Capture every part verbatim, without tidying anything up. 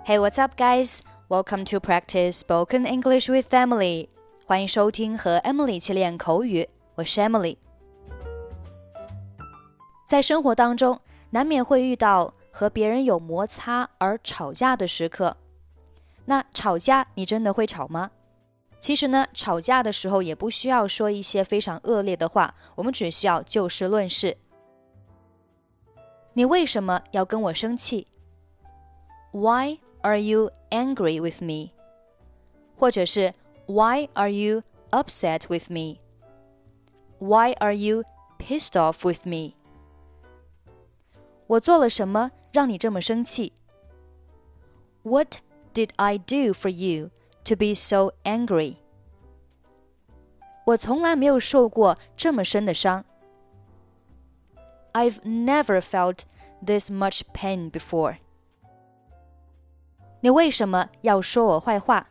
Hey, what's up, guys? Welcome to practice spoken English with Emily. 欢迎收听和 Emily 一起练口语，我是 Emily。在生活当中，难免会遇到和别人有摩擦而吵架的时刻。那吵架，你真的会吵吗？其实呢，吵架的时候也不需要说一些非常恶劣的话，我们只需要就事论事。你为什么要跟我生气？ Why are you angry with me? 或者是 Why are you upset with me? Why are you pissed off with me? 我做了什么让你这么生气？ What did I do for you to be so angry? 我从来没有受过这么深的伤。I've never felt this much pain before. 你为什么要说我坏话？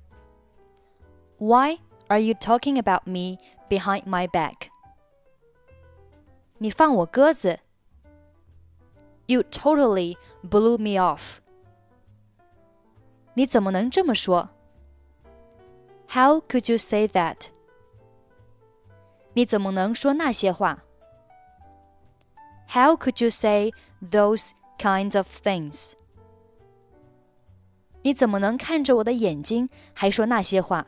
Why are you talking about me behind my back? 你放我鸽子。You totally blew me off. 你怎么能这么说？ How could you say that? 你怎么能说那些话？ How could you say those kinds of things? 你怎么能看着我的眼睛还说那些话？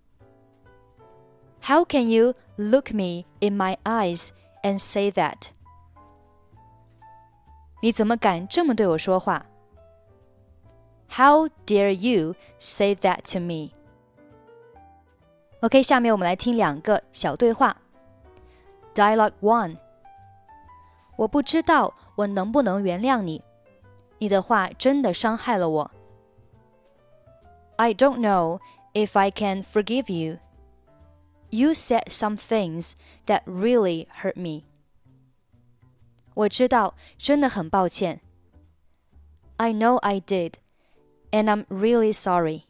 How can you look me in my eyes and say that? 你怎么敢这么对我说话？ How dare you say that to me? OK, 下面我们来听两个小对话。Dialogue one. 我不知道我能不能原谅你，你的话真的伤害了我。I don't know if I can forgive you. You said some things that really hurt me. 我知道，真的很抱歉。I know I did, and I'm really sorry.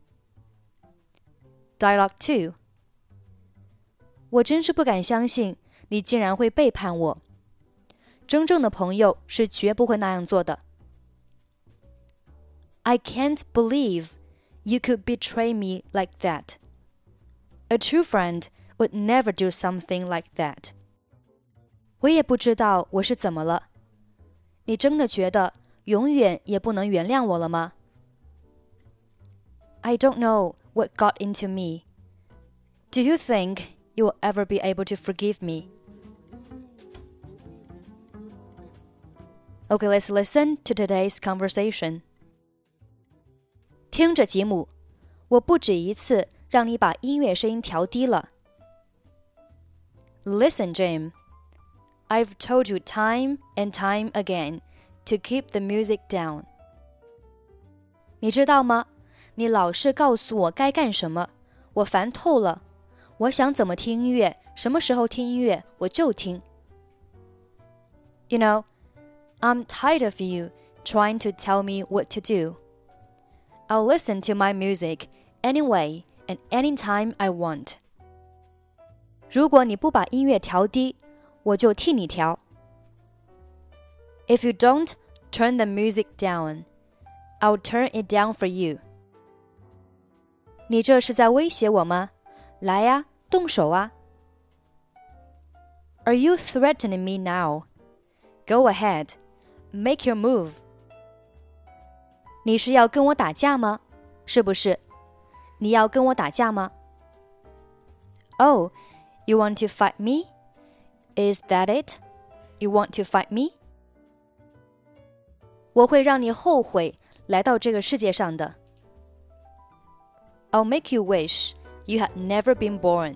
Dialogue two. 我真是不敢相信你竟然会背叛我。真正的朋友是绝不会那样做的。I can't believe you could betray me like that. A true friend would never do something like that. 我也不知道我是怎么了。你真的觉得永远也不能原谅我了吗？ I don't know what got into me. Do you think you will ever be able to forgive me? Okay, let's listen to today's conversation. 听着吉姆，我不止一次让你把音乐声音调低了。Listen, Jim. I've told you time and time again to keep the music down. 你知道吗？你老是告诉我该干什么，我烦透了。我想怎么听音乐，什么时候听音乐，我就听。You know, I'm tired of you trying to tell me what to do. I'll listen to my music anyway and anytime I want. 如果你不把音乐调低，我就替你调。If you don't turn the music down, I'll turn it down for you. 你这是在威胁我吗？来呀，动手啊。Are you threatening me now? Go ahead, make your move. 你是要跟我打架吗？是不是？你要跟我打架吗？ Oh, you want to fight me? Is that it? You want to fight me? 我会让你后悔来到这个世界上的。I'll make you wish you had never been born.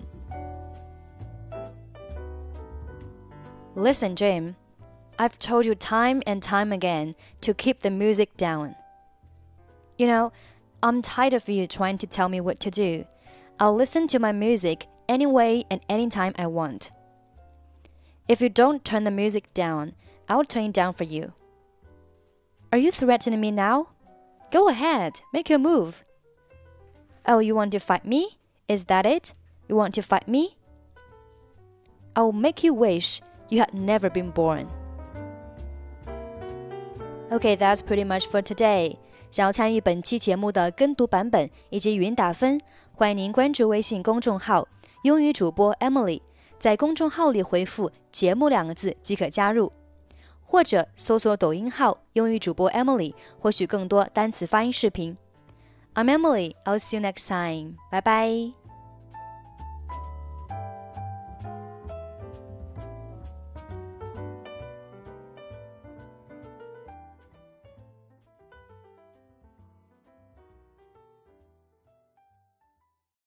Listen, Jim, I've told you time and time again to keep the music down. You know, I'm tired of you trying to tell me what to do. I'll listen to my music anyway and anytime I want. If you don't turn the music down, I'll turn it down for you. Are you threatening me now? Go ahead, make your move. Oh, you want to fight me? Is that it? You want to fight me? I'll make you wish you had never been born. Okay, that's pretty much for today. 想要参与本期节目的跟读版本以及语音打分，欢迎您关注微信公众号英语主播 Emily， 在公众号里回复节目两个字即可加入，或者搜索抖音号英语主播 Emily， 获取更多单词发音视频。I'm Emily, I'll see you next time. Bye bye.